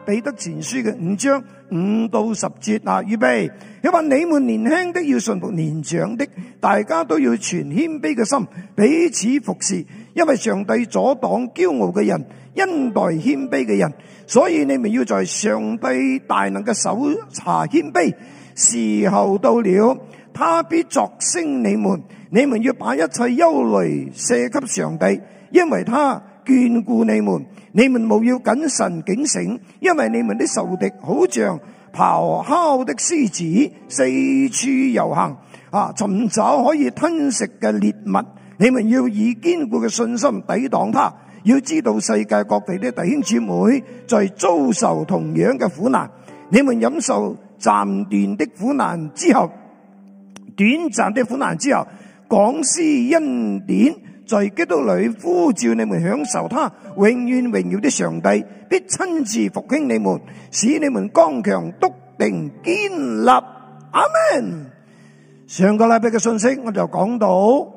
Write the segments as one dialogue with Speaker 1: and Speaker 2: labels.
Speaker 1: 彼得前書嘅5章5到10節啊，預備。佢話你們年輕的要順服年長的，大家都要存謙卑嘅心，彼此服侍，因為上帝阻擋驕傲嘅人，恩待謙卑嘅人。所以你們要在上帝大能嘅手下謙卑，時候到了，他必作升你們。你們要把一切憂慮卸給上帝，因為他眷顧你們。你們務要謹慎警醒，因為你們的仇敵好像咆哮的獅子，四處遊行，尋找可以吞食嘅獵物。你們要以堅固嘅信心抵擋他。要知道世界各地的弟兄姊妹在遭受同樣嘅苦難，你們忍受暫斷的苦難之後，短暫的苦難之後，廣施恩典，在基督裏呼召你們享受他永遠榮耀的上帝，必親自復興你們，使你們剛強篤定堅立。阿們。上個禮拜嘅信息我就講到，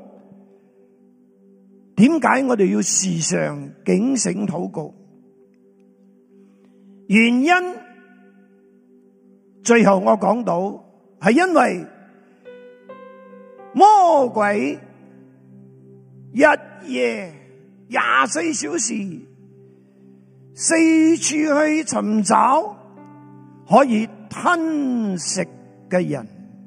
Speaker 1: 點解我哋要時常警醒禱告？原因最後我講到係因為魔鬼日夜24小時四處去尋找可以吞食嘅人。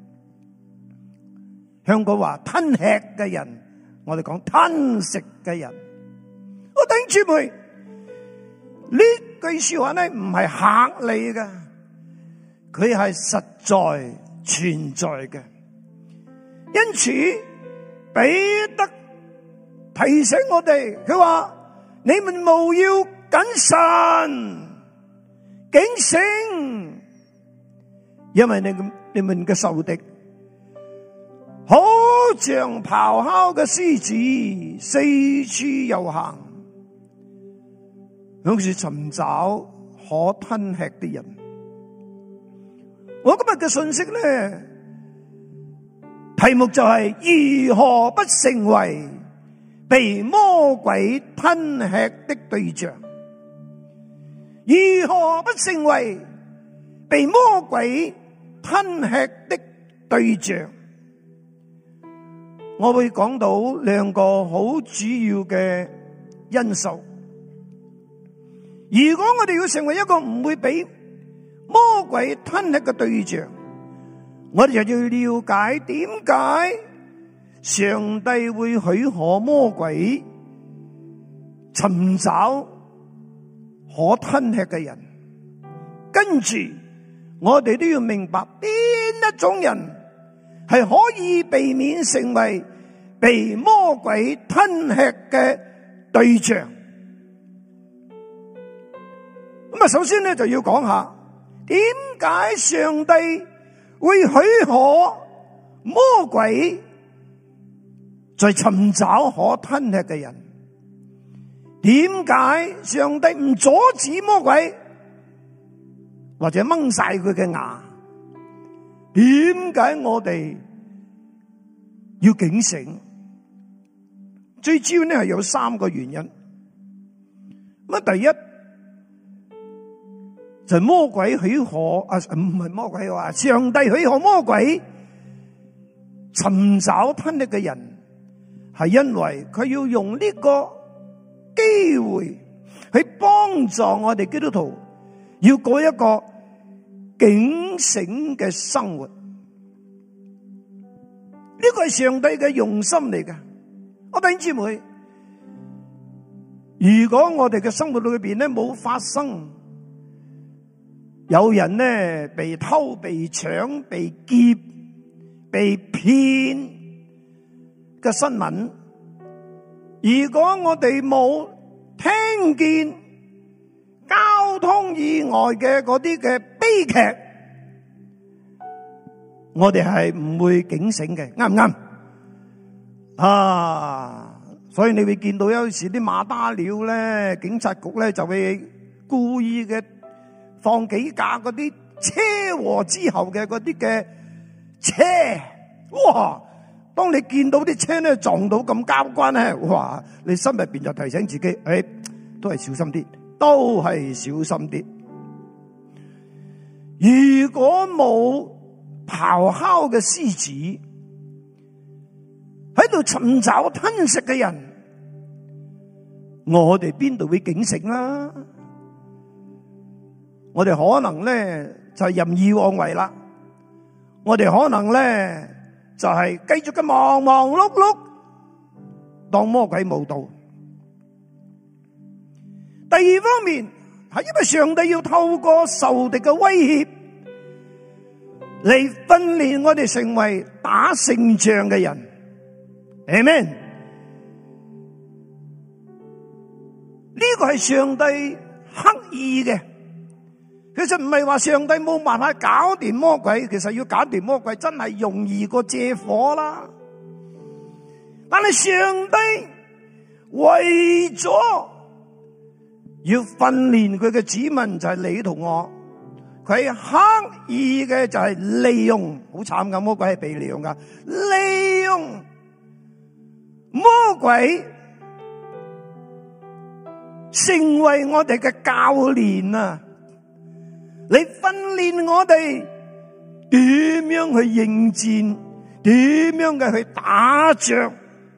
Speaker 1: 香港話吞吃嘅人，我哋講吞食嘅人。我弟兄姊妹，呢句說話咧唔係嚇你嘅，佢係實在存在嘅。因此彼得提醒我哋，佢話你們務要謹慎警醒，因為你們嘅仇敵好像咆哮嘅獅子，四處遊行，好似尋找可吞吃的人。我今日嘅信息咧，題目就係如何不成為被魔鬼吞吃的對象？如何不成為被魔鬼吞吃的對象？我會講到兩個好主要嘅因素。如果我哋要成為一個唔會俾魔鬼吞吃嘅對象，我哋就要了解點解上帝會許可魔鬼尋找可吞吃嘅人。跟住我哋都要明白邊一種人係可以避免成為被魔鬼吞吃嘅對象。咁啊，首先咧就要講下點解上帝會許可魔鬼在尋找可吞吃嘅人？點解上帝唔阻止魔鬼或者掹晒佢嘅牙？點解我哋要警醒？最主要呢係有3個原因。咁第一就係魔鬼許可唔係魔鬼話，上帝許可魔鬼尋找吞吃嘅人，係因為佢要用呢個機會去幫助我哋基督徒要過一個警醒嘅生活。呢個係上帝嘅用心嚟嘅。我弟兄姊妹，如果我哋嘅生活裏邊咧冇發生有人咧被偷、被搶、被劫、被騙嘅新聞，如果我哋冇聽見交通意外嘅嗰啲嘅悲劇，我哋係唔會警醒嘅，啱唔啱？所以你會見到有時啲馬打鳥咧，警察局咧就會故意嘅放幾架嗰啲車禍之後嘅嗰啲嘅車，哇！當你見到啲車咧撞到咁交關咧，哇！你心入邊就提醒自己，都係小心啲，都係小心啲。 如果冇咆哮嘅獅子喺度尋找吞食嘅人，我哋邊度會警醒啦？我哋可能咧就係任意妄為啦，我哋可能咧就係繼續嘅忙忙碌碌，當魔鬼冇到。第二方面係因為上帝要透過仇敵嘅威脅嚟訓練我哋成為打勝仗嘅人。Amen。呢個係上帝刻意嘅，其實唔係話上帝冇辦法搞掂魔鬼，其實要搞掂魔鬼真係容易過借火啦。但係上帝為咗要訓練佢嘅子民，就係你同我，佢刻意嘅就係利用，好慘噶，魔鬼係被利用噶，利用魔鬼成為我哋嘅教練啊！你訓練我哋點樣去應戰，點樣嘅去打仗，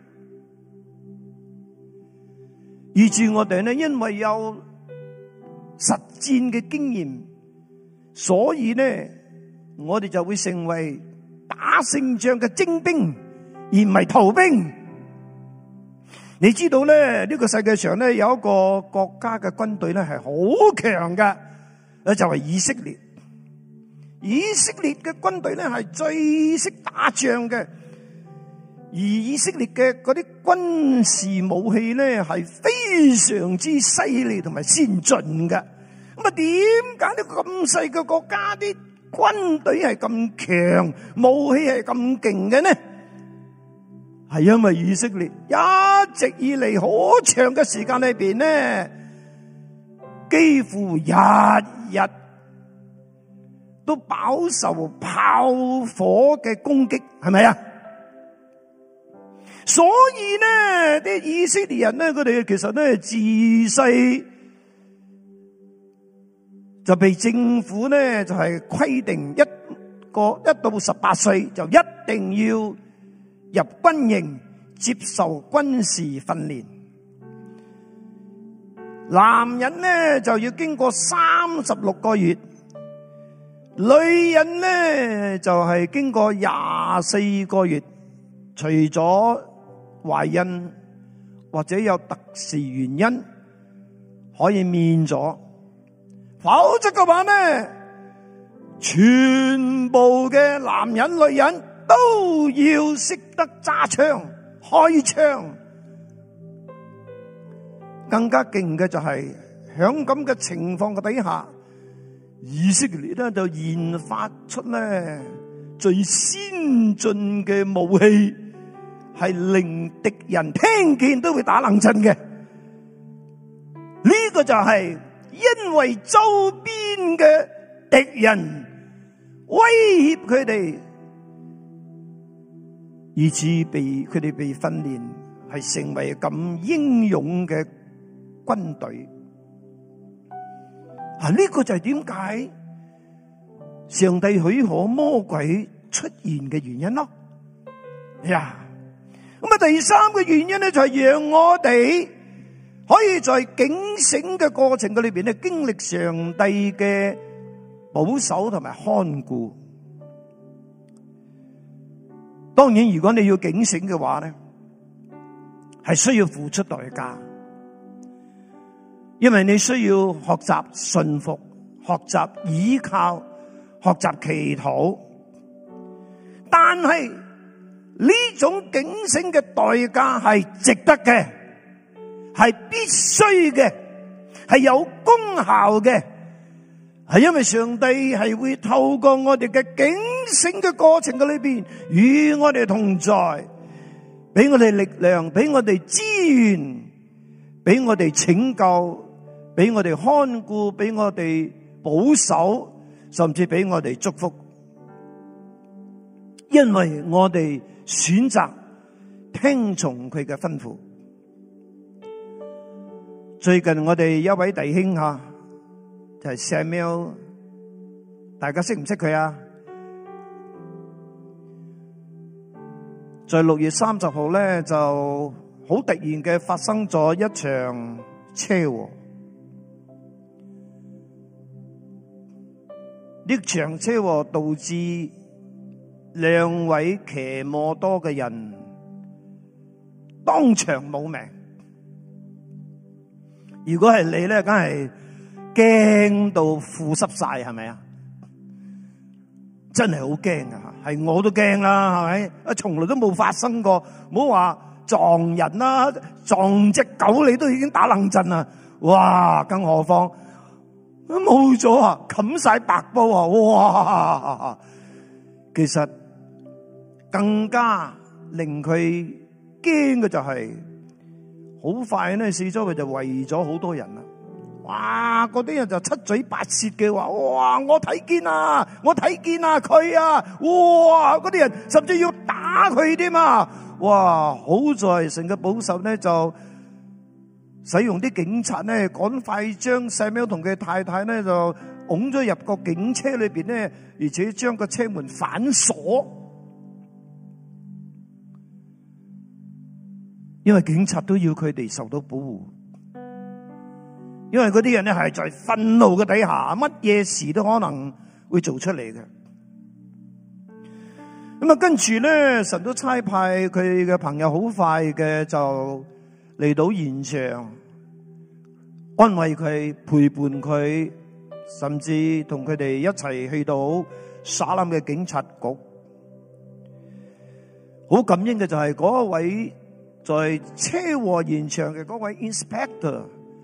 Speaker 1: 以致我哋呢，因為有實戰嘅經驗，所以呢，我哋就會成為打勝仗嘅精兵，而唔係逃兵。你知道咧，呢個世界上咧有一個國家嘅軍隊咧係好強嘅，就係以色列。以色列嘅軍隊咧係最識打仗嘅，而以色列嘅嗰啲軍事武器咧係非常之犀利同埋先進嘅。咁啊，點解呢個咁細嘅國家啲軍隊係咁強，武器係咁勁嘅呢？係因為以色列一直以嚟好長嘅時間裏邊呢，幾乎日日都飽受炮火嘅攻擊，係咪啊？所以呢，啲以色列人呢，佢哋其實呢自細就被政府呢就係規定一到18歲就一定要入軍營接受軍事訓練，男人呢就要經過36個月，女人呢就係經過24個月，除咗懷孕或者有特殊原因可以免咗，否則嘅話呢，全部嘅男人女人都要識得揸槍開槍。更加勁嘅就係響咁嘅情況嘅底下，以色列咧就研發出咧最先進嘅武器，係令敵人聽見都會打冷震嘅。呢個就係因為周邊嘅敵人威脅佢哋，以致佢哋被訓練係成為咁英勇嘅軍隊。呢個就係點解上帝許可魔鬼出現嘅原因咯。呀，咁啊，第三個原因咧就係讓我哋可以在警醒嘅過程嘅裏邊咧經歷上帝嘅保守同埋看顧。當然，如果你要警醒嘅話咧，係需要付出代價，因為你需要學習順服、學習倚靠、學習祈禱。但係呢種警醒嘅代價係值得嘅，係必須嘅，係有功效嘅。係因為上帝係會透過我哋嘅警醒嘅過程嘅裏邊，與我哋同在，俾我哋力量，俾我哋資源，俾我哋拯救，俾我哋看顧，俾我哋保守，甚至俾我哋祝福。因為我哋選擇聽從佢嘅吩咐。最近我哋一位弟兄就係 Samuel 大家識唔識佢啊？在6月30號咧，就好突然嘅發生咗一場車禍。呢場車禍導致2位騎摩托嘅人當場冇命。如果係你咧，梗係驚到褲濕晒，係咪啊？真係好驚啊！係我都驚啦，係咪？啊，從來都冇發生過，唔好話撞人啦，撞隻狗你都已經打冷震啦。哇，更何況冇咗啊，冚晒白布啊！哇，其實更加令佢驚嘅就係，好快咧，四周圍就圍咗好多人啦。哇！嗰啲人就七嘴八舌嘅話，哇！我睇見啊，我睇見啊，佢啊，哇！嗰啲人甚至要打佢添啊！哇！好在成個保守咧就使用啲警察咧，趕快將細喵同佢太太咧就拱咗入個警車裏邊咧，而且將個車門反鎖，因為警察都要佢哋受到保護。因為嗰啲人咧係在憤怒嘅底下，乜嘢事都可能會做出嚟嘅。咁啊，跟住咧，神都差派佢嘅朋友好快嘅就嚟到現場，安慰佢、陪伴佢，甚至同佢哋一齊去到沙林嘅警察局。好感恩嘅就係嗰一位在車禍現場嘅嗰位 inspector。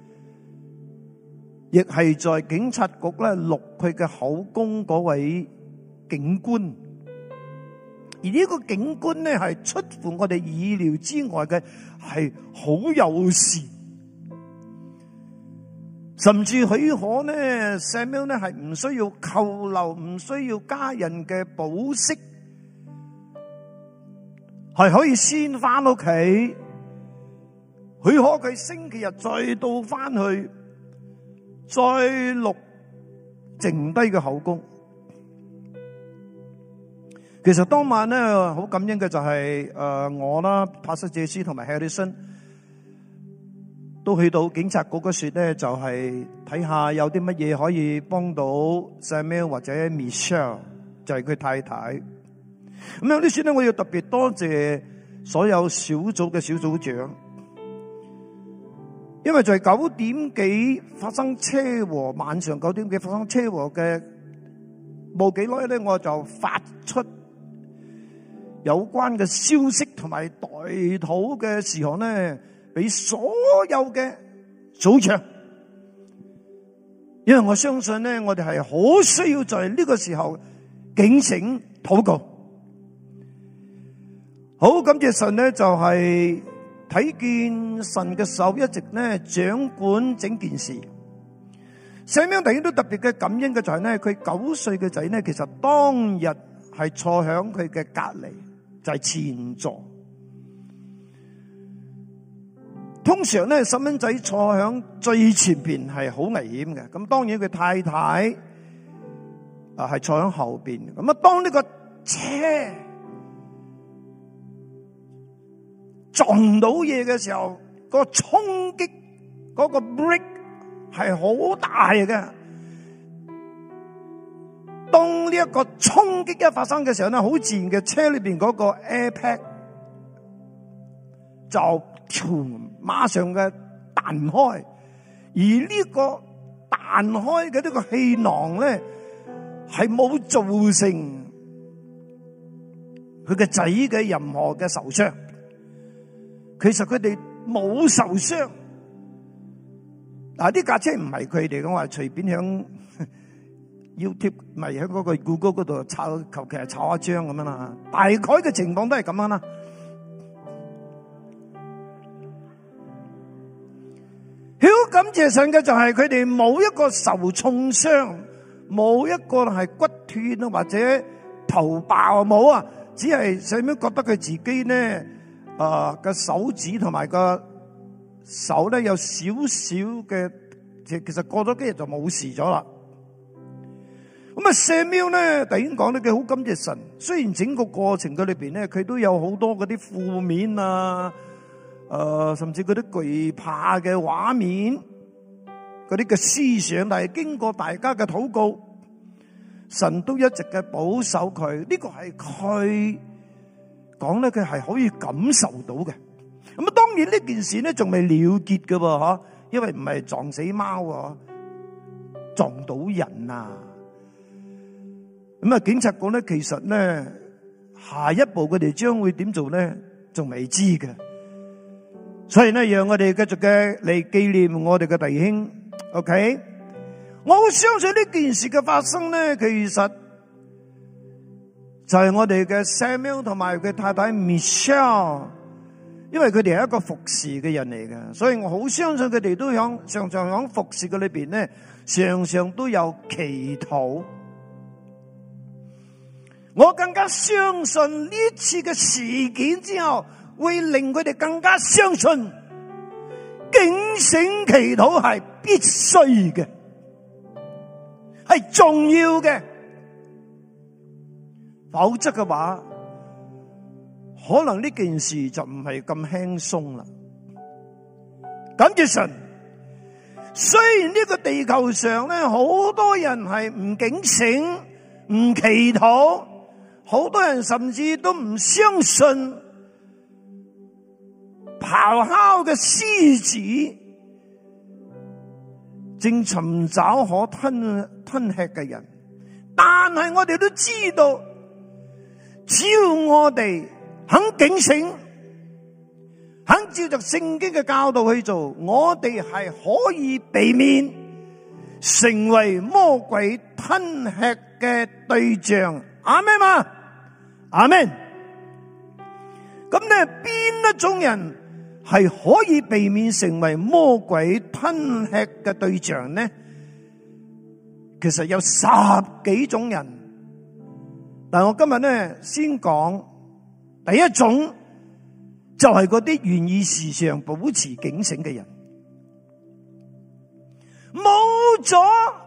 Speaker 1: 亦係在警察局咧錄佢嘅口供嗰位警官，而呢個警官咧係出乎我哋意料之外嘅，係好友善，甚至許可咧 Samuel 咧係唔需要扣留，唔需要家人嘅保釋，係可以先翻屋企，許可佢星期日再到翻去。再錄剩低嘅口供。其實當晚咧好感恩嘅就係我啦，帕斯謝斯同埋 Harrison 都去到警察局嗰時咧，就係睇下有啲乜嘢可以幫到 Samuel 或者 Michelle， 就係佢太太。咁有啲時咧，我要特別多謝所有小組嘅小組長。因為在9點幾發生車禍，晚上9點幾發生車禍嘅冇幾耐咧，我就發出有關嘅消息同埋代禱嘅事項咧，俾所有嘅組長。因為我相信咧，我哋係好需要在呢個時候警醒禱告。好感謝神咧，就係睇見神嘅手一直咧掌管整件事。聖經突然都特別嘅感恩嘅就係咧，佢9歲嘅仔咧，其實當日係坐響佢嘅隔籬，就係前座。通常咧，細蚊仔坐響最前邊係好危險嘅。咁當然佢太太係坐響後邊。咁啊，當呢個車撞到嘢嘅時候，個衝擊嗰個 brake 係好大嘅。當呢一個衝擊一發生嘅時候咧，好自然嘅車裏邊嗰個 airpack 就馬上嘅彈開，而呢個彈開嘅呢個氣囊咧係冇造成佢嘅仔嘅任何嘅受傷。其實佢哋冇受傷，嗱，呢架車唔係佢哋嘅，我係隨便響 YouTube 咪喺嗰個 Google 嗰度抄，求其係抄一張咁樣啦。大概嘅情況都係咁樣啦。好感謝神嘅就係佢哋冇一個受重傷，冇一個係骨斷啊或者頭爆冇啊，只係上面覺得佢自己咧。個手指同埋個手咧有少少嘅，其實過咗幾日就冇事咗啦。 咁啊，撒母耳咧，弟兄講得佢好感謝神。雖然整個過程嘅裏邊咧，佢都有好多嗰啲負面啊，甚至嗰啲懼怕嘅畫面，嗰啲嘅思想，但係經過大家嘅禱告，神都一直嘅保守佢。呢個係佢講咧，佢係可以感受到嘅。咁啊，當然呢件事咧仲未了結嘅喎，吓，因為唔係撞死貓啊，撞到人啊。咁啊，警察局咧，其實咧下一步佢哋將會點做咧，仲未知嘅。所以咧，讓我哋繼續嘅嚟紀念我哋嘅弟兄。OK， 我好相信呢件事嘅發生咧，其實就係我哋嘅 Samuel 同埋佢太太 Michelle， 因為佢哋係一個服侍嘅人嚟嘅，所以我好相信佢哋都常常響服侍嘅裏邊咧，常常都有祈禱。我更加相信呢次嘅事件之後，會令佢哋更加相信警醒祈禱係必須嘅，係重要嘅。否則嘅話，可能呢件事就唔係咁輕鬆啦。感謝神，雖然呢個地球上咧，好多人係唔警醒、唔祈禱。好多人甚至都唔相信咆哮嘅獅子正尋找可吞吃嘅人，但係我哋都知道，只要我哋肯警醒，肯照着聖經嘅教導去做，我哋係可以避免成為魔鬼吞吃嘅對象。阿們嘛，阿們。咁咧，邊一種人係可以避免成為魔鬼吞吃嘅對象呢？其實有10幾種人，但我今日咧先講第一種，就係嗰啲願意時常保持警醒嘅人。冇咗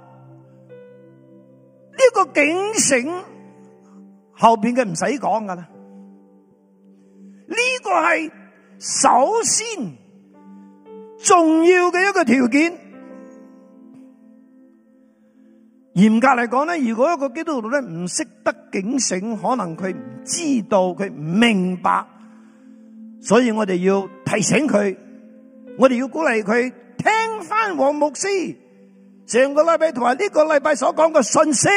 Speaker 1: 呢個警醒，後邊嘅唔使講噶啦，呢個係首先重要嘅一個條件。嚴格嚟講咧，如果一個基督徒咧唔識得警醒，可能佢唔知道，佢唔明白，所以我哋要提醒佢，我哋要鼓勵佢聽翻黃牧師上個禮拜同埋呢個禮拜所講嘅信息，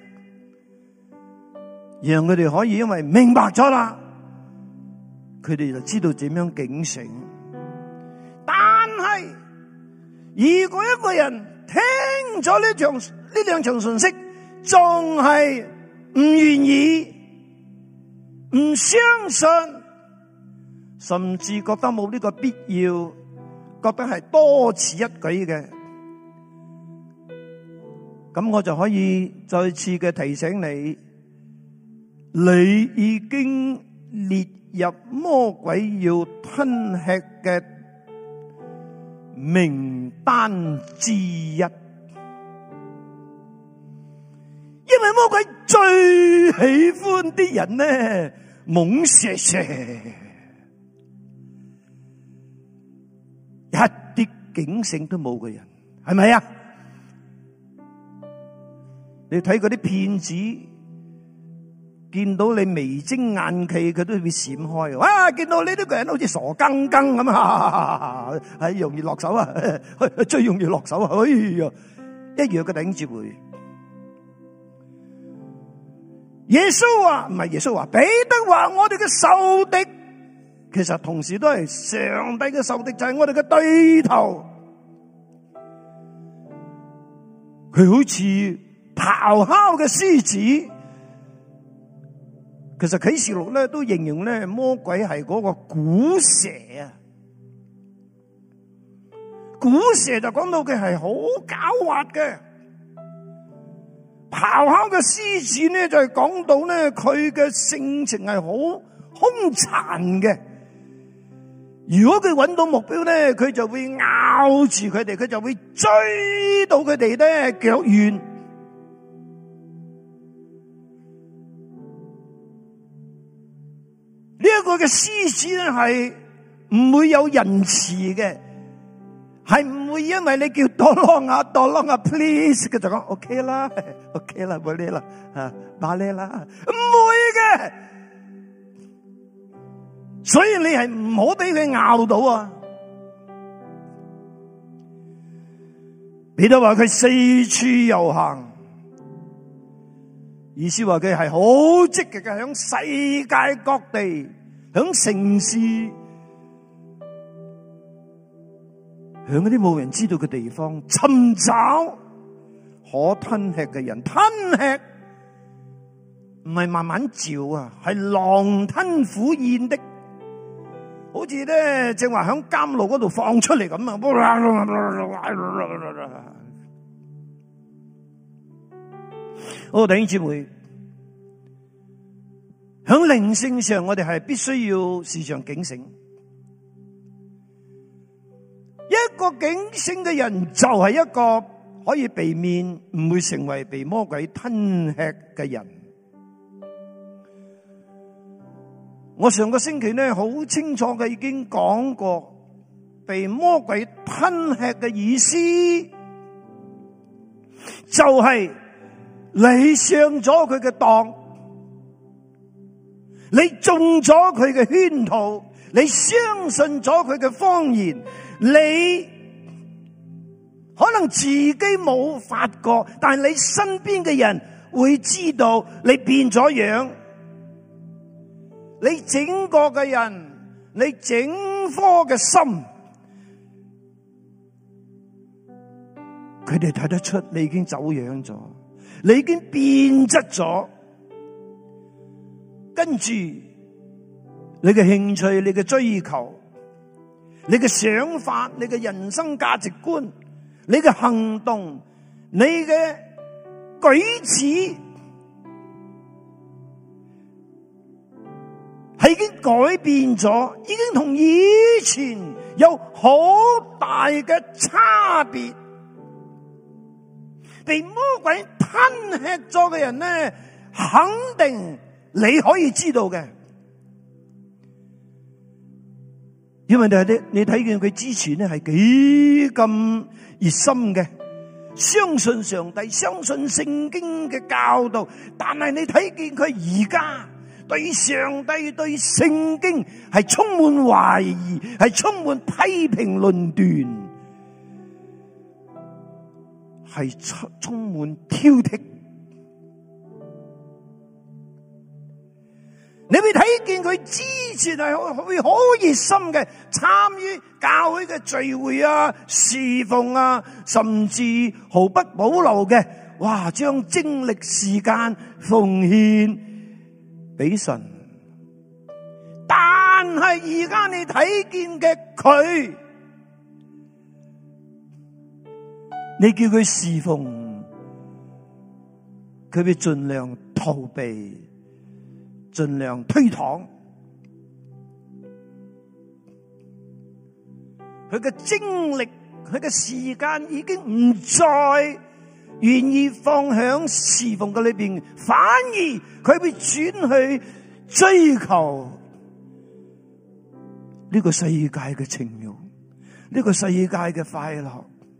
Speaker 1: 讓佢哋可以因為明白咗啦，佢哋就知道點樣警醒。但係如果一個人聽咗呢兩場信息，仲係唔願意、唔相信，甚至覺得冇呢個必要，覺得係多此一舉嘅，咁我就可以再次嘅提醒你，你已經列入魔鬼要吞吃嘅名單之一。因為魔鬼最喜歡啲人呢，懵蛇蛇，一啲警醒都冇嘅人，係咪啊？你睇嗰啲騙子，見到你眉精眼企，佢都會閃開。哇！見到你呢個人好似傻更更咁啊，係容易落手啊，最容易落手啊！哎呀，一樣嘅頂住會。耶穌話唔係，耶穌話，彼得話我哋嘅仇敵，其實同時都係上帝嘅仇敵，就係我哋嘅對頭。佢好似咆哮嘅獅子。其實啟示錄咧都形容咧魔鬼係嗰個古蛇啊，古蛇就講到佢係好狡猾嘅。咆哮嘅獅子呢，就係講到咧佢嘅性情係好兇殘嘅。如果佢揾到目標咧，佢就會咬住佢哋，佢就會追到佢哋咧腳軟。 個嘅獅子咧係唔會有仁慈嘅，係唔會因為你叫多啷啊 please 佢就講 OK 啦 OK 啦，冇呢啦啊，馬呢啦，唔會嘅。所以你係唔好俾佢咬到啊！彼得話佢四處遊行，意思話佢係好積極嘅，響世界各地，響城市，響嗰啲冇人知道嘅地方尋找可吞吃嘅人。吞吃唔係慢慢嚼啊，係狼吞虎咽的。好似咧正話響監牢嗰度放出嚟咁啊！弟兄姊妹，響靈性上我哋係必須要時常警醒。一個警醒嘅人就係一個可以避免唔會成為被魔鬼吞吃嘅人。我上個星期咧好清楚嘅已經講過，被魔鬼吞吃嘅意思就係你上咗佢嘅當，你中咗佢嘅圈套，你相信咗佢嘅謊言，你可能自己冇發覺，但係你身邊嘅人會知道你變咗樣。你整個嘅人，你整顆嘅心，佢哋睇得出你已經走樣咗，你已經變質咗。跟住你嘅興趣、你嘅追求、你嘅想法、你嘅人生價值觀、你嘅行動、你嘅舉止，係已經改變咗，已經同以前有好大嘅差別。被魔鬼吞吃咗嘅人咧，肯定你可以知道嘅，因為你睇見佢之前咧係幾咁熱心嘅，相信上帝，相信聖經嘅教導，但係你睇見佢而家對上帝、對聖經係充滿懷疑，係充滿批評論斷，係充滿挑剔。你會睇見佢之前係會好熱心嘅參與教會嘅聚會啊、侍奉啊，甚至毫不保留嘅，哇，將精力時間奉獻俾神。但係而家你睇見嘅佢，你叫佢侍奉，佢會盡量逃避，盡量推搪。佢嘅精力，佢嘅時間已經唔再願意放響侍奉嘅裏邊，反而佢會轉去追求呢個世界嘅情慾，呢個世界嘅快樂。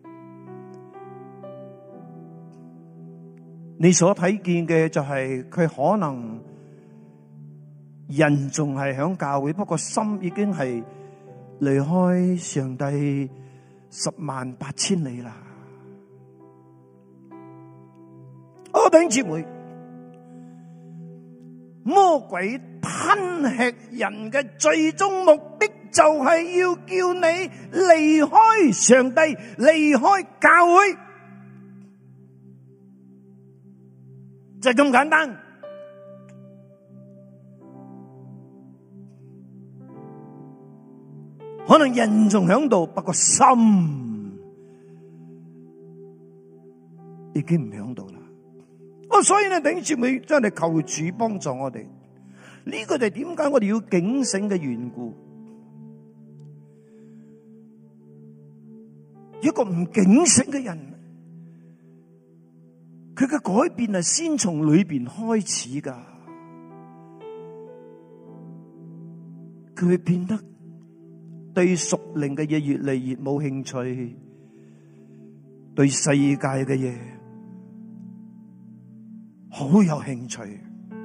Speaker 1: 你所睇見嘅就係佢可能人仲係響教會，不過心已經係離開上帝108000里啦。弟兄姊妹，魔鬼吞吃人嘅最終目的就係要叫你離開上帝，離開教會，就係咁簡單。可能人仲響度，不過心已經唔響度啦。所以咧，弟兄姊妹，真係求主幫助我哋。呢個就係點解我哋要警醒嘅緣故。一個唔警醒嘅人，佢嘅改變係先從裏邊開始噶。 佢會變得對屬靈嘅嘢越嚟越冇興趣，對世界嘅嘢好有興趣。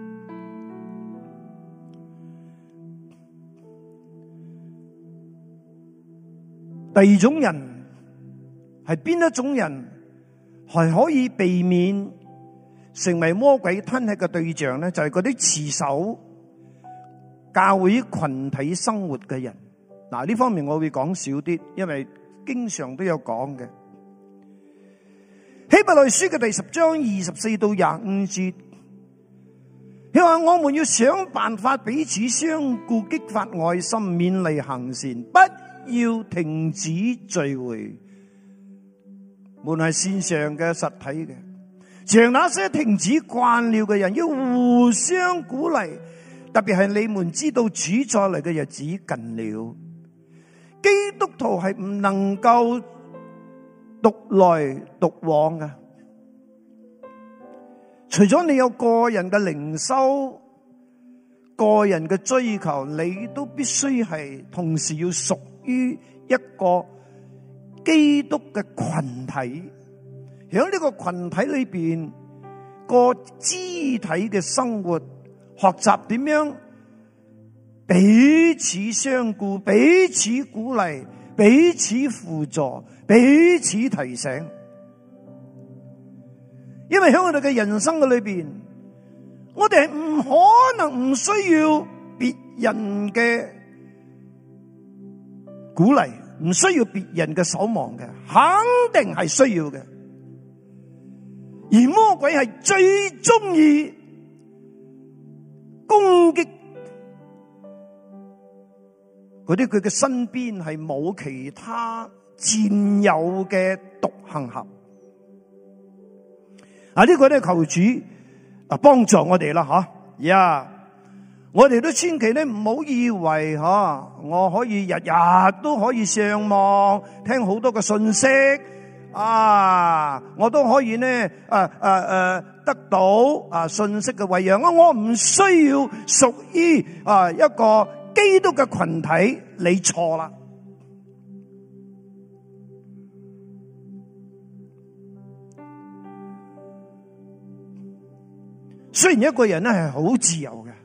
Speaker 1: 第二種人係邊一種人係可以避免成為魔鬼吞吃嘅對象咧？就係嗰啲持守教會群體生活嘅人。嗱，呢方面我會講少啲，因為經常都有講嘅。希伯來書嘅第10章24到25節，佢話我們要想辦法彼此相顧，激發愛心，勉勵行善，不要停止聚會，無論係線上嘅、實體嘅。像那些停止慣了嘅人，要互相鼓勵，特別係你們知道主再嚟嘅日子近了。基督徒係唔能夠獨來獨往嘅，除咗你有個人嘅靈修、個人嘅追求，你都必須係同時要屬於一個基督嘅群體。喺呢個群體裏邊，個肢體嘅生活，學習點樣彼此相顧、彼此鼓勵、彼此輔助、彼此提醒。因為喺我哋嘅人生嘅裏邊，我哋係唔可能唔需要別人嘅鼓勵，唔需要別人嘅守望嘅，肯定係需要嘅。而魔鬼係最中意攻擊嗰啲佢嘅身邊係冇其他戰友嘅獨行俠。呢個咧求主幫助我哋啦吓，我哋都千祈咧唔好以為我可以日日都可以上網聽好多嘅信息。我都可以呢得到信息嘅餵養。我唔需要屬於一個基督嘅群體。你錯啦。雖然一個人咧係好自由嘅，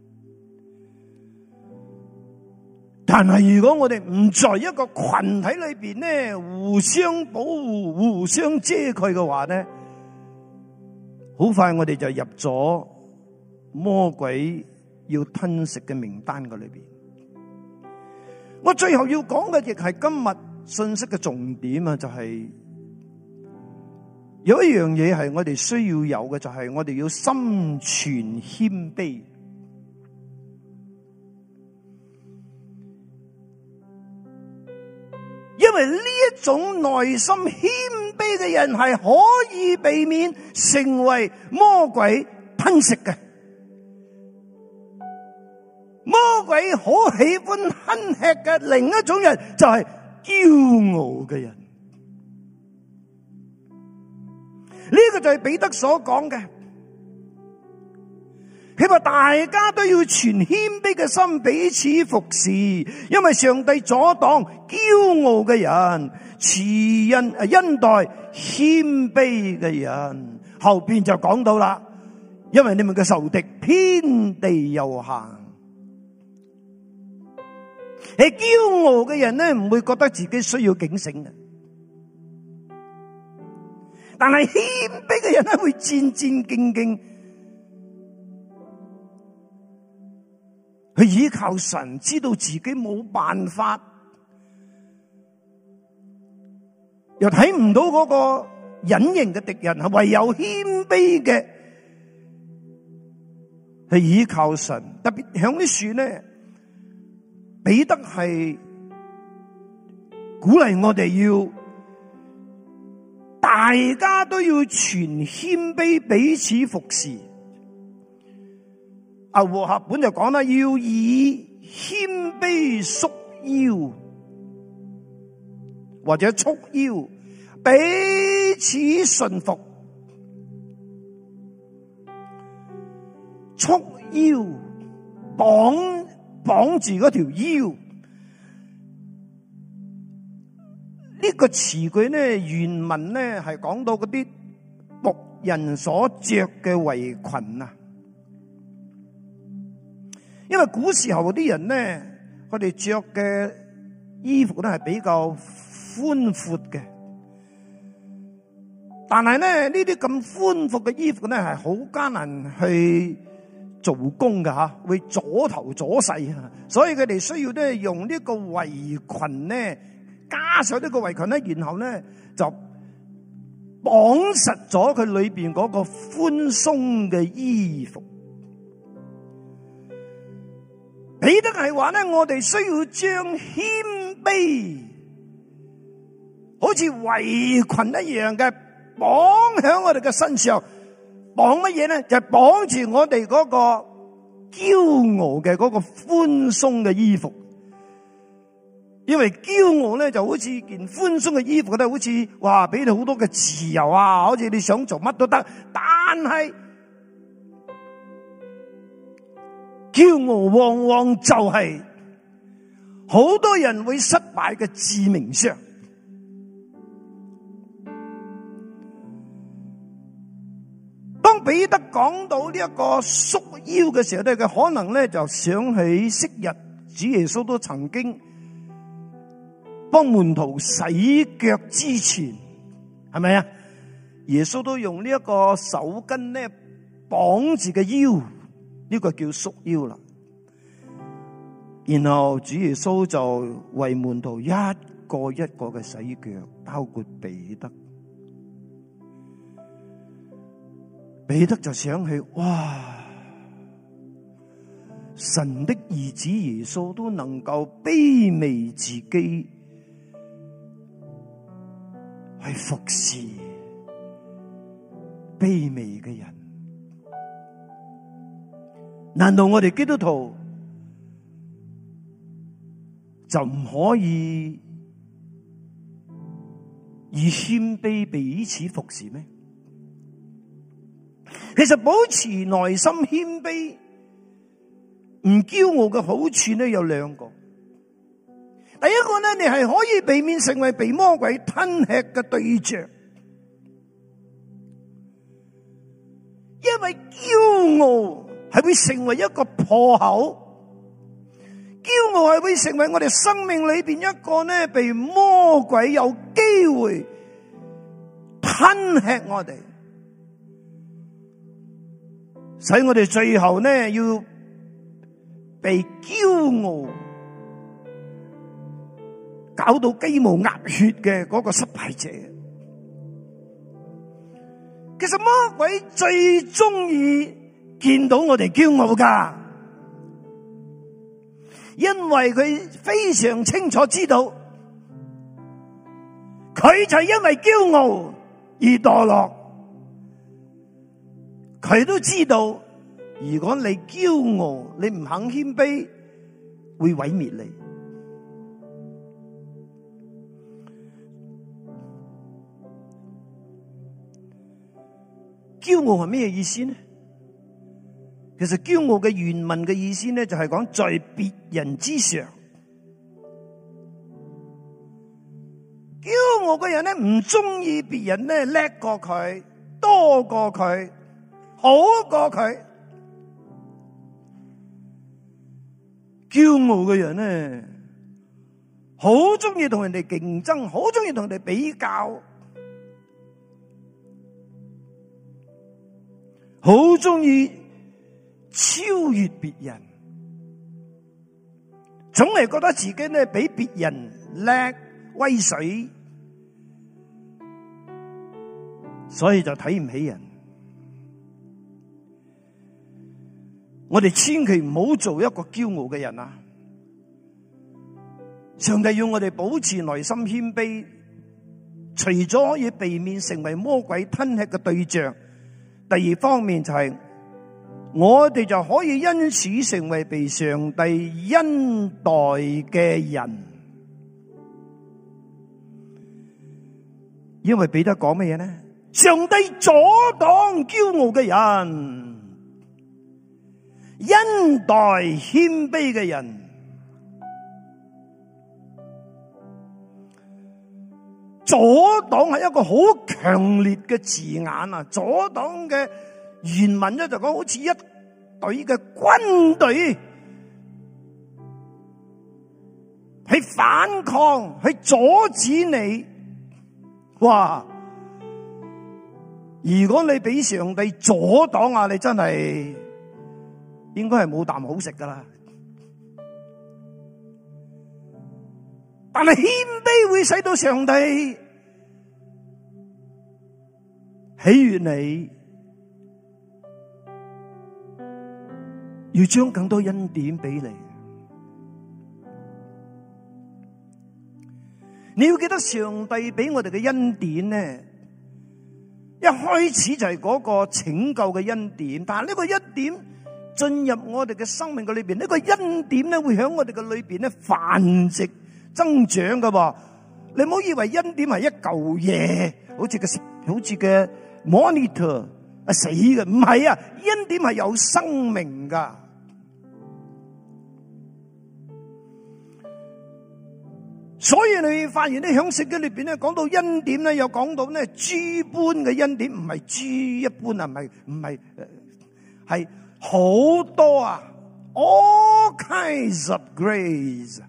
Speaker 1: 但係如果我哋唔在一個群體裏邊咧，互相保護、互相遮蓋嘅話咧，好快我哋就入咗魔鬼要吞食嘅名單嘅裏邊。我最後要講嘅亦係今日信息嘅重點啊，就係有一樣嘢係我哋需要有嘅，就係我哋要心存謙卑。因為呢一種內心謙卑嘅人係可以避免成為魔鬼吞食嘅。魔鬼好喜歡吞吃嘅另一種人就係驕傲嘅人。呢個就係彼得所講嘅，佢話大家都要存謙卑嘅心彼此服侍，因為上帝阻擋驕傲嘅人，恩待謙卑嘅人。後邊就講到啦，因為你們嘅仇敵遍地遊行。係驕傲嘅人咧，唔會覺得自己需要警醒嘅。但係謙卑嘅人咧，會戰戰兢兢，去依靠神，知道自己冇辦法，又睇唔到嗰個隱形嘅敵人，係唯有謙卑嘅去依靠神。特別響啲樹咧，彼得係鼓勵我哋要。大家都要存謙卑，彼此服侍。和合本就講啦，要以謙卑束腰，或者束腰，彼此順服。束腰綁綁住嗰條腰。呢個詞句咧，原文咧係講到嗰啲僕人所着嘅圍裙啊。因為古時候嗰啲人咧，佢哋着嘅衣服咧係比較寬闊嘅，但係咧呢啲咁寬闊嘅衣服咧係好艱難去做工㗎吓，會阻頭阻勢啊，所以佢哋需要咧用呢個圍裙咧，加上呢個圍裙咧，然後咧就綁實咗佢裏邊嗰個寬鬆嘅衣服。彼得係話咧，我哋需要將謙卑好似圍裙一樣嘅綁喺我哋嘅身上。綁乜嘢咧？就係綁住我哋嗰個驕傲嘅嗰個寬鬆嘅衣服。因為驕傲咧就好似件寬鬆嘅衣服咧，好似哇俾你好多嘅自由啊，好似你想做乜都得。但係驕傲往往就係好多人會失敗嘅致命傷。當彼得講到呢一個束腰嘅時候咧，佢可能咧就想起昔日主耶穌都曾經幫門徒洗腳之前，係咪啊？耶穌都用呢一個手巾咧綁住嘅腰，呢個叫束腰啦。然後主耶穌就為門徒一個一個嘅洗腳，包括彼得。彼得就想起，哇！神的兒子耶穌都能夠卑微自己去服侍卑微嘅人，難道我哋基督徒就唔可以以謙卑彼此服侍咩？其實保持內心謙卑唔驕傲嘅好處咧有兩個。第一個咧，你係可以避免成為被魔鬼吞吃嘅對象，因為驕傲係會成為一個破口，驕傲係會成為我哋生命裏邊一個咧被魔鬼有機會吞吃我哋，使我哋最後咧要被驕傲搞到雞毛鴨血嘅嗰個失敗者。其實魔鬼最中意見到我哋驕傲噶，因為佢非常清楚知道，佢就係因為驕傲而墮落。佢都知道，如果你驕傲，你唔肯謙卑，會毀滅你。驕傲係咩意思呢？其實驕傲嘅原文嘅意思呢，就係講在別人之上。驕傲嘅人呢，唔中意別人呢叻過佢，多過佢，好過佢。驕傲嘅人呢，好中意同人哋競爭，好中意同人哋比較，好中意超越別人，總係覺得自己呢比別人叻威水，所以就睇唔起人。我哋千祈唔好做一個驕傲嘅人啊！上帝要我哋保持內心謙卑，除咗可以避免成為魔鬼吞吃嘅對象，第二方面就係我哋就可以因此成為被上帝恩待嘅人。因為彼得講乜嘢呢？上帝阻擋驕傲嘅人， 恩待謙卑嘅人。阻擋係一個好強烈嘅字眼啊！阻擋嘅原文咧就講好似一隊嘅軍隊去反抗，去阻止你。哇！如果你俾上帝阻擋啊，你真係應該係冇啖好食噶啦。但係謙卑會使到上帝喜悅你，要將更多恩典俾你。你要記得上帝俾我哋嘅恩典呢，一開始就係嗰個拯救嘅恩典，但係呢個恩典進入我哋嘅生命嘅裏邊，呢個恩典咧會喺我哋嘅裏邊咧繁殖增長噶噃。你唔好以為恩典係一嚿嘢，好似嘅 monitor 死嘅，唔係啊！恩典係有生命噶。所以你會發現咧，喺聖經裏邊咧講到恩典咧，有講到咧豬般嘅恩典，唔係豬一般啊，唔係係好多啊 ，all kinds of grace。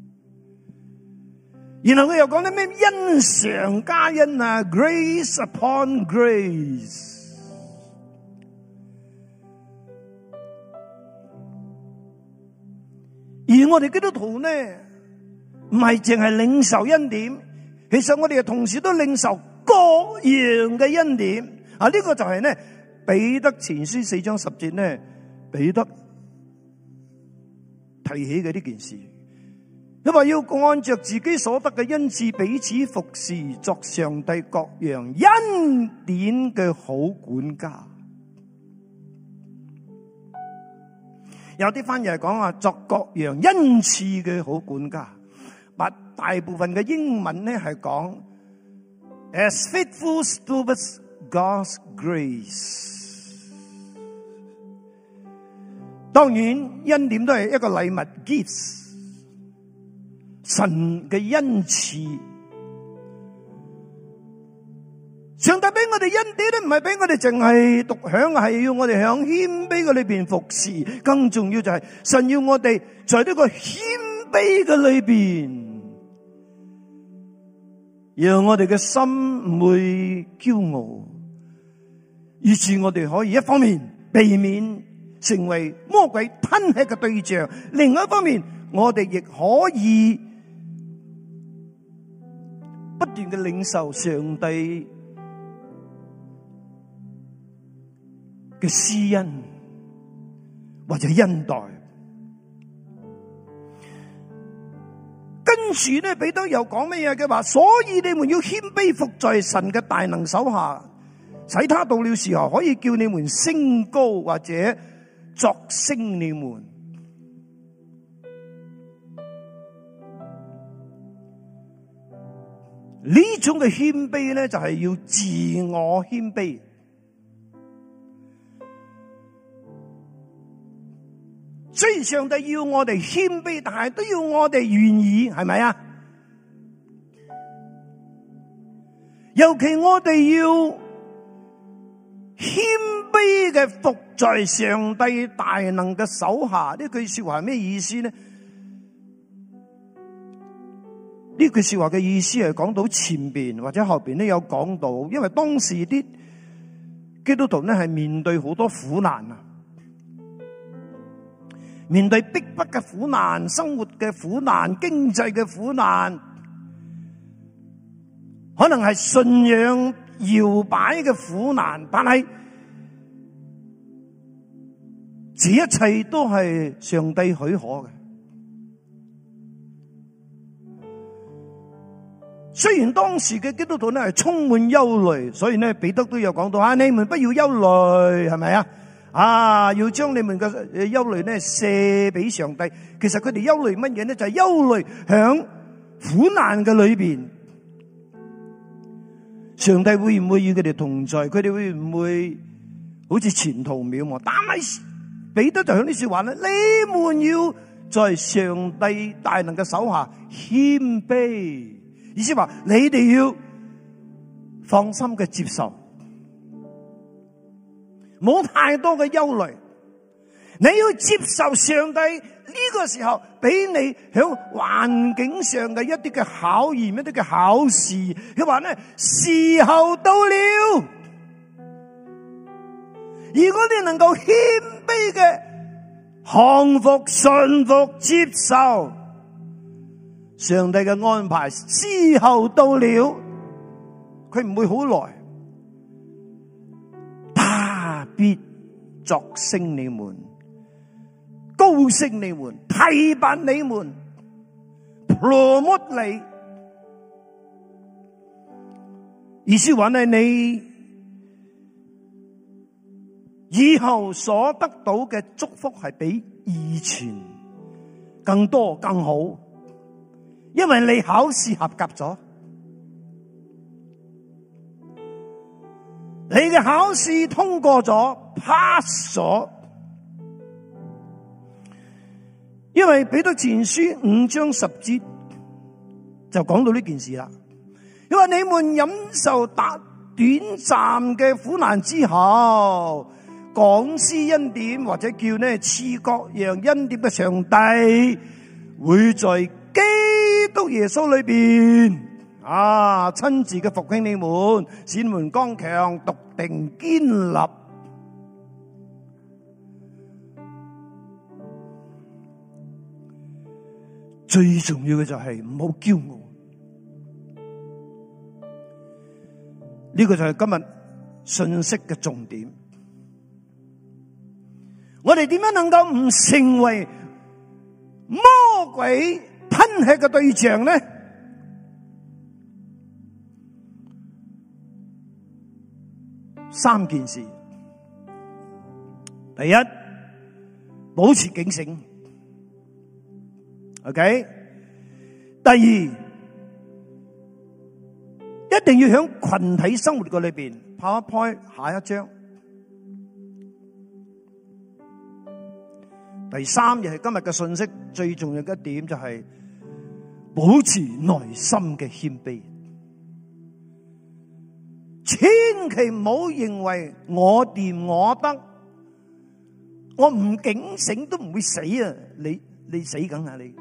Speaker 1: 然後佢又講啲咩恩上加恩啊 ，grace upon grace。而我哋基督徒呢，唔係淨係領受恩典，其實我哋同時都領受各樣嘅恩典。啊，呢個就係呢彼得前書4章10節呢，彼得提起嘅呢件事。佢話要按着自己所得嘅恩賜彼此服侍，作上帝各樣恩典嘅好管家。有啲翻譯係講話作各樣恩賜嘅好管家，但大部分嘅英文咧係講 as faithful stewards God's grace。當然恩典都係一個禮物 gifts。神嘅恩賜，上帝俾我哋恩典咧，唔係俾我哋淨係獨享，係要我哋響謙卑嘅裏邊服侍。更重要就係神要我哋在呢個謙卑嘅裏邊，讓我哋嘅心唔會驕傲，以致我哋可以一方面避免成為魔鬼吞吃嘅對象，另外一方面我哋亦可以不斷嘅領受上帝嘅施恩或者恩待。跟住咧，彼得又講乜嘢嘅話？所以你們要謙卑服在神嘅大能手下，使他到了時候可以叫你們升高，或者擢升你們。呢種嘅謙卑咧，就係要自我謙卑。雖然上帝要我哋謙卑，但係都要我哋願意，係咪啊？尤其我哋要謙卑嘅服在上帝大能嘅手下。呢句說話係咩意思呢？呢句說話嘅意思係講到前邊或者後邊都有講到，因為當時啲基督徒咧係面對好多苦難啊，面對逼迫嘅苦難、生活嘅苦難、經濟嘅苦難，可能係信仰搖擺嘅苦難，但係這一切都係上帝許可嘅。雖然當時嘅基督徒咧係充滿憂慮，所以咧彼得都有講到啊，你們不要憂慮，係咪啊？啊，要將你們嘅憂慮咧卸俾上帝。其實佢哋憂慮乜嘢咧？就係憂慮響苦難嘅裏邊，上帝會唔會與佢哋同在？佢哋會唔會好似前途渺茫？但係彼得就響呢說話咧，你們要在上帝大能嘅手下謙卑，意思話你哋要放心嘅接受，冇太多嘅憂慮。你要接受上帝呢個時候俾你響環境上嘅一啲嘅考驗，一啲嘅考試。佢話咧，時候到了，如果你能夠謙卑嘅降服、順服、接受上帝嘅安排，時候到了，佢唔會好耐，他必擢升你們，高升你們，提拔你們 ，promote 你。意思話咧，你以後所得到嘅祝福係比以前更多更好，因為你考試合格咗，你嘅考試通過咗 ，pass 咗。因為彼得前書5章10節就講到呢件事啦。因為你們忍受短暫嘅苦難之後，廣施恩典或者叫呢賜各樣恩典嘅上帝，會在基督耶穌裏邊親自嘅復興你們，使你們剛強、篤定、堅立。最重要嘅就係唔好驕傲，呢個就係今日信息嘅重點。我哋點樣能夠唔成為魔鬼吞吃嘅對象呢？三件事。第一，保持警醒。OK， 第二，一定要喺群體生活嘅裏邊。PowerPoint 下一章。第三，亦係今日嘅信息最重要嘅一點，就係保持內心嘅謙卑。千祈唔好認為我掂我得，我唔警醒都唔會死啊！你死梗啊你！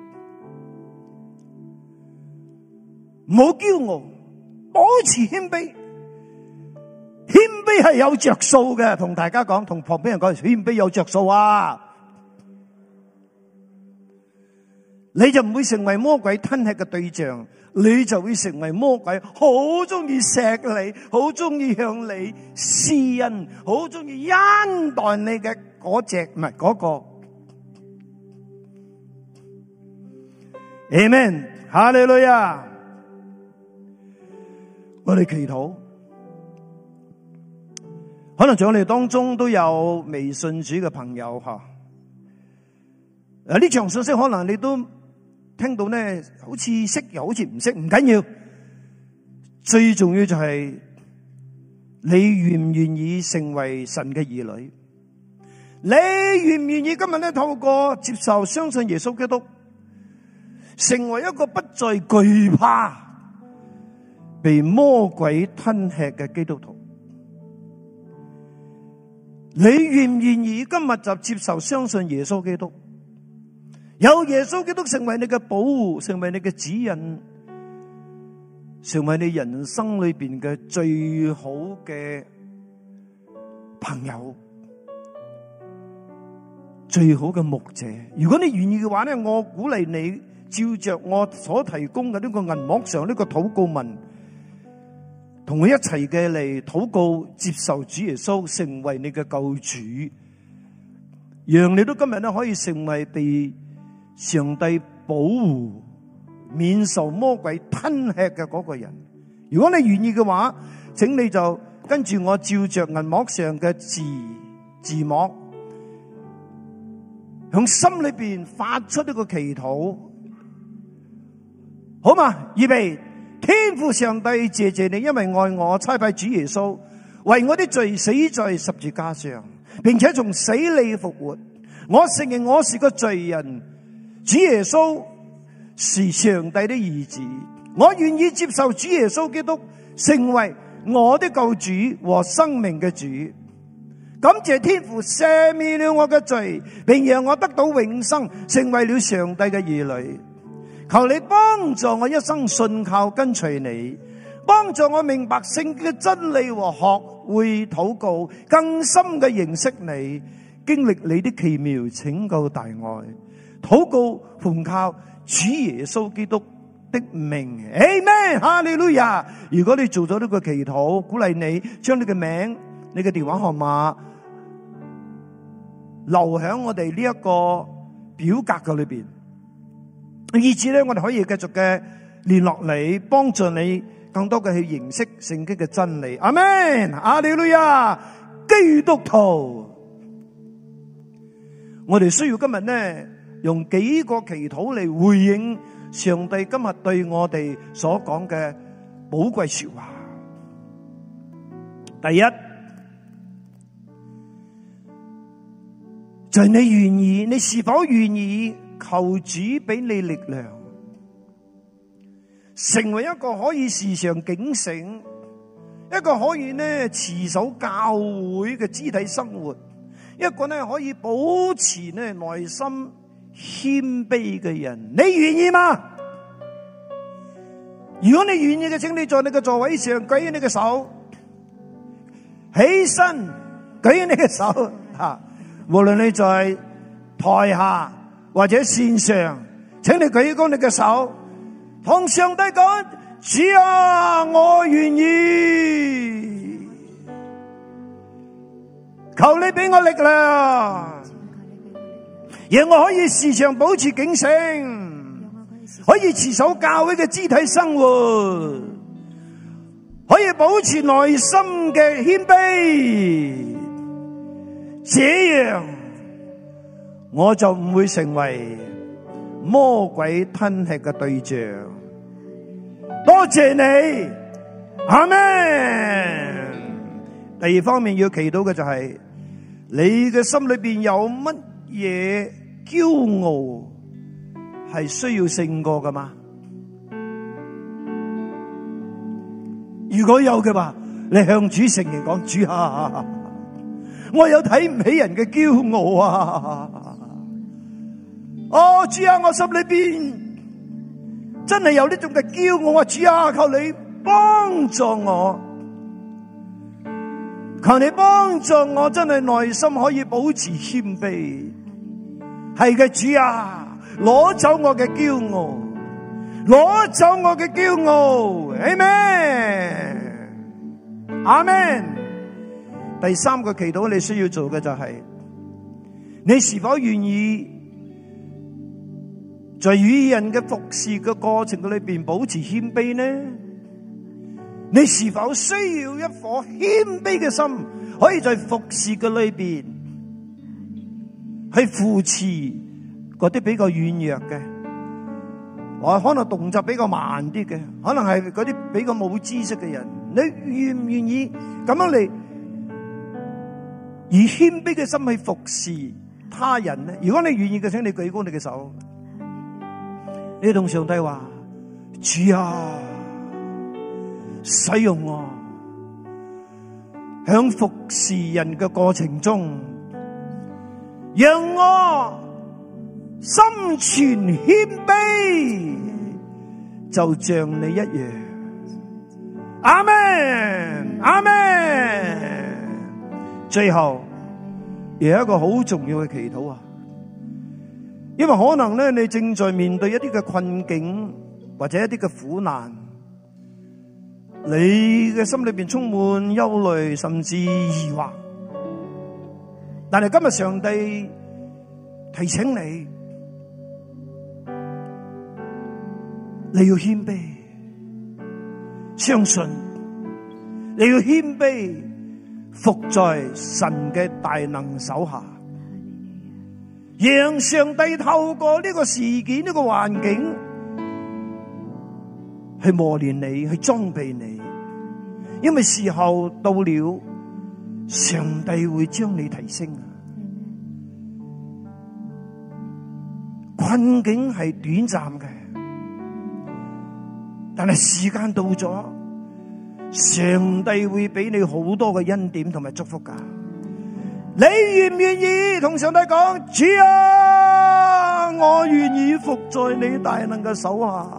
Speaker 1: 唔好驕傲，保持謙卑。謙卑係有着數嘅，同大家講，同旁邊人講，謙卑有着數啊！你就唔會成為魔鬼吞吃嘅對象，你就會成為魔鬼好中意錫你，好中意向你施恩，好中意恩待你嘅嗰隻，唔係嗰個。Amen， 哈利路亞。我哋祈禱，可能在我哋當中都有未信主嘅朋友吓。呢場信息可能你都聽到呢，好似識又好似唔識，唔緊要。最重要就係你願唔願意成為神嘅兒女？你願唔願意今日咧透過接受相信耶穌基督，成為一個不再懼怕被魔鬼吞吃嘅基督徒？你願唔願意今日就接受相信耶穌基督，有耶穌基督成為你嘅保護，成為你嘅指引，成為你人生裏邊嘅最好嘅朋友，最好嘅牧者？如果你願意嘅話咧，我鼓勵你照着我所提供嘅呢個銀幕上呢個禱告文，同佢一齊嘅嚟禱告，接受主耶穌成為你嘅救主，讓你都今日咧可以成為被上帝保護、免受魔鬼吞吃嘅嗰個人。如果你願意嘅話，請你就跟住我照着銀幕上嘅字幕，向心裏邊發出呢個祈禱，好嘛？預備。天父上帝，謝謝你，因為愛我，差派主耶穌為我的罪死在十字架上，並且從死裏復活。 我承認我是個罪人，主耶穌是上帝的兒子，我願意接受主耶穌基督成為我的救主和生命嘅主。感謝天父赦免了我嘅罪，並讓我得到永生，成為了上帝嘅兒女。求你幫助我一生信靠跟隨你，幫助我明白聖經嘅真理和學會禱告，更深嘅認識你，經歷你的奇妙拯救大愛。禱告奉靠主耶穌基督的名 ，Amen， 哈利路亞。如果你做咗呢個祈禱，鼓勵你將你嘅名、你嘅電話號碼留喺我哋呢一個表格嘅裏邊，以至咧我哋可以繼續嘅聯絡你，幫助你更多嘅去認識聖經嘅真理。阿們，哈利路亞。基督徒，我哋需要今日呢用幾個祈禱嚟回應上帝今日對我哋所講嘅寶貴說話。第一，就係你願意，你是否願意求主俾你力量，成為一個可以時常警醒，一個可以呢持守教會嘅肢體生活，一個呢可以保持呢內心謙卑嘅人。你願意嗎？如果你願意嘅，請你在你嘅座位上舉起你嘅手，起身舉起你嘅手吓。無論你在台下或者線上，請你舉高你嘅手，同上帝講：主啊，我願意，求你俾我力量，讓我可以時常保持警醒，可以持守教會嘅肢體生活，可以保持內心嘅謙卑。這樣我就唔會成為魔鬼吞吃嘅對象。多謝你，阿們。第二方面要祈禱嘅就係你嘅心裏邊有乜嘢驕傲係需要勝過㗎嘛？如果有嘅話，你向主承認講：主啊，我有睇唔起人嘅驕傲啊！哦，主啊，我心裏邊真係有呢種嘅驕傲啊！主啊，求你幫助我，求你幫助我，真係內心可以保持謙卑。係嘅，主啊，攞走我嘅驕傲，攞走我嘅驕傲。阿們，阿們。第三個祈禱你需要做嘅就係，你是否願意在與人嘅服侍嘅過程裏邊保持謙卑呢？你是否需要一顆謙卑嘅心，可以在服侍嘅裏邊去扶持嗰啲比較軟弱嘅，或可能動作比較慢啲嘅，可能係嗰啲比較冇知識嘅人？你願唔願意咁樣嚟以謙卑嘅心去服侍他人呢？如果你願意嘅，請你舉高你嘅手，你同上帝話：主啊，使用我，響服侍人嘅過程中，讓我心存謙卑，就像你一樣。阿們，阿們。最後有一個好重要嘅祈禱啊，因為可能咧你正在面對一啲嘅困境或者一啲嘅苦難，你嘅心裏邊充滿憂慮甚至疑惑，但係今日上帝提醒你，你要謙卑，相信你要謙卑，伏在神嘅大能手下，讓上帝透過呢個事件、呢個環境去磨練你，去裝備你，因為時候到了，上帝會將你提升。 困境係短暫嘅，但係時間到咗，上帝會俾你好多嘅恩典同埋祝福噶。你願唔願意同上帝講，主啊，我願意伏在你大能嘅手下，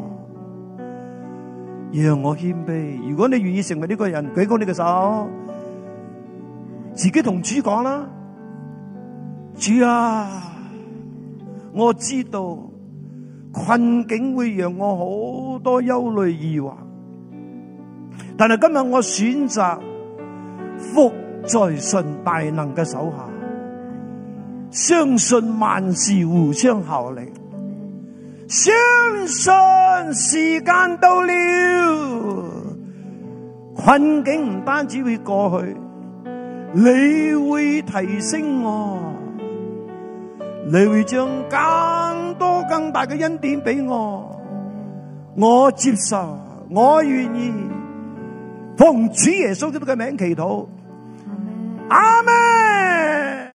Speaker 1: 讓我謙卑。如果你願意成為呢個人，舉高你嘅手，自己同主講啦，主啊，我知道困境會讓我好多憂慮疑惑，但係今日我選擇伏在神大能嘅手下，相信萬事互相效力，相信時間到了，困境唔單止會過去，你會提升我，你會將更多更大嘅恩典俾我，我接受，我願意奉主耶穌基督嘅名祈禱，阿們。